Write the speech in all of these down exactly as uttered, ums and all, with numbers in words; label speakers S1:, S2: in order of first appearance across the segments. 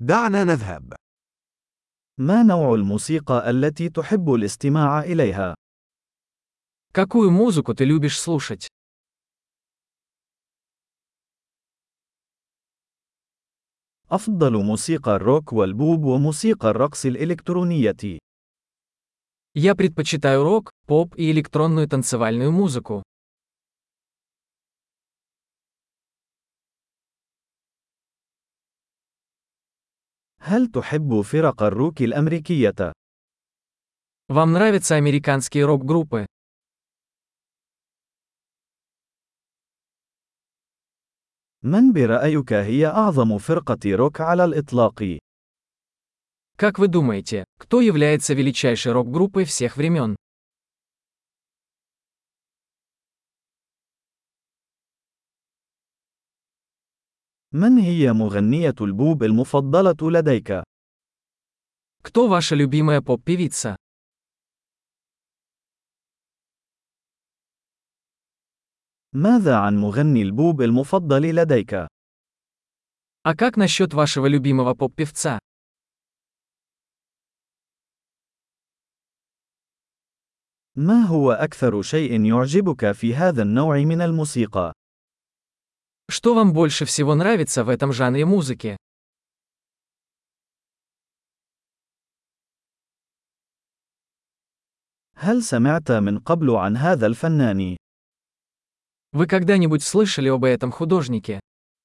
S1: دعنا نذهب.
S2: ما نوع الموسيقى التي تحب الاستماع إليها؟
S3: Какую музыку ты любишь слушать?
S2: أفضل موسيقى الروك والبوب وموسيقى الرقص الإلكترونية.
S3: Я предпочитаю рок, поп и электронную танцевальную музыку.
S2: هل تحب فرق الروك الأمريكية؟
S3: Вам нравятся американские рок-группы?
S2: من برأيك هي أعظم فرقة روك على الإطلاق؟
S3: Как вы думаете, кто является величайшей рок-группой всех времен?
S2: من هي مغنية البوب المفضلة لديك؟
S3: Кто ваша любимая поп-певица?
S2: ماذا عن مغني البوب المفضل لديك؟
S3: А как насчет вашего любимого поп-певца?
S2: ما هو أكثر شيء يعجبك في هذا النوع من الموسيقى؟
S3: Что вам больше всего нравится в этом жанре музыки?
S2: هل سمعت من قبل عن هذا الفنان؟
S3: Вы когда-нибудь слышали об этом художнике?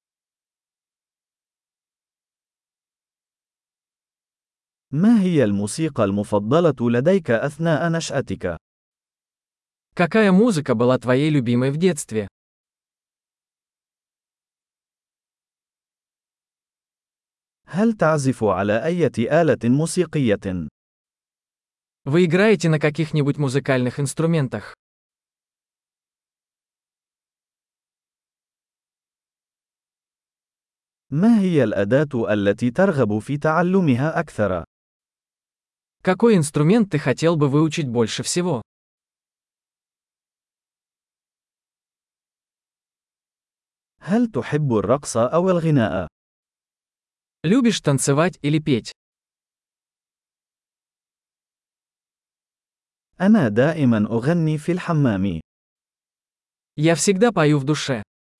S2: ما هي الموسيقى المفضلة لديك أثناء نشأتك؟
S3: Какая музыка была твоей любимой в детстве?
S2: هل تعزف على أي آلة موسيقية؟
S3: Вы играете на каких-нибудь музыкальных инструментах?
S2: ما هي الأداة التي ترغب في تعلمها أكثر؟
S3: Какой инструмент ты хотел бы выучить больше всего?
S2: هل تحب الرقص أو الغناء؟
S3: Любишь танцевать или петь?
S2: أنا دائما أغني في الحمام.
S3: Я всегда пою в душе.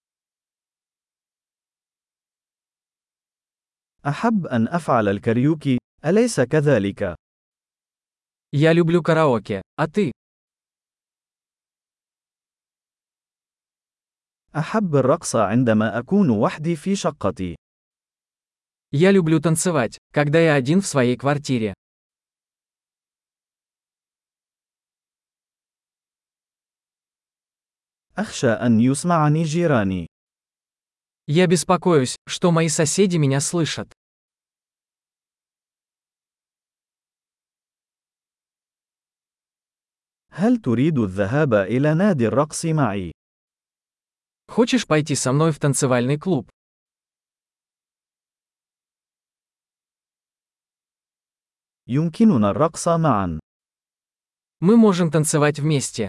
S2: أحب أن أفعل الكاريوكي، أليس كذلك؟
S3: Я люблю караоке, а ты?
S2: أحب الرقص عندما أكون وحدي في شقتي.
S3: Я люблю танцевать, когда я один в своей квартире.
S2: أخشى أن يسمعني جيراني.
S3: Я беспокоюсь, что мои соседи меня слышат.
S2: هل تريد الذهاب إلى نادي الرقص معي؟
S3: Хочешь пойти со мной в танцевальный клуб?
S2: يمكننا الرقص معا.
S3: Мы можем танцевать вместе.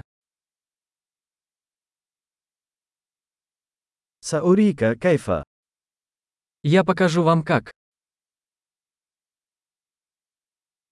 S2: سأريك كيف.
S3: Я покажу вам как.